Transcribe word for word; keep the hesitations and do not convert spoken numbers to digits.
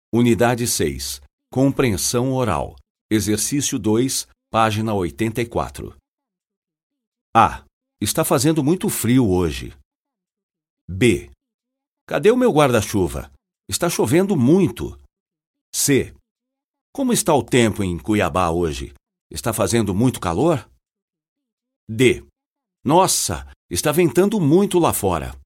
Unidade seis. Compreensão oral. Exercício dois, página oitenta e quatro. A. Está fazendo muito frio hoje. B. Cadê o meu guarda-chuva? Está chovendo muito. C. Como está o tempo em Cuiabá hoje? Está fazendo muito calor? D. Nossa, está ventando muito lá fora.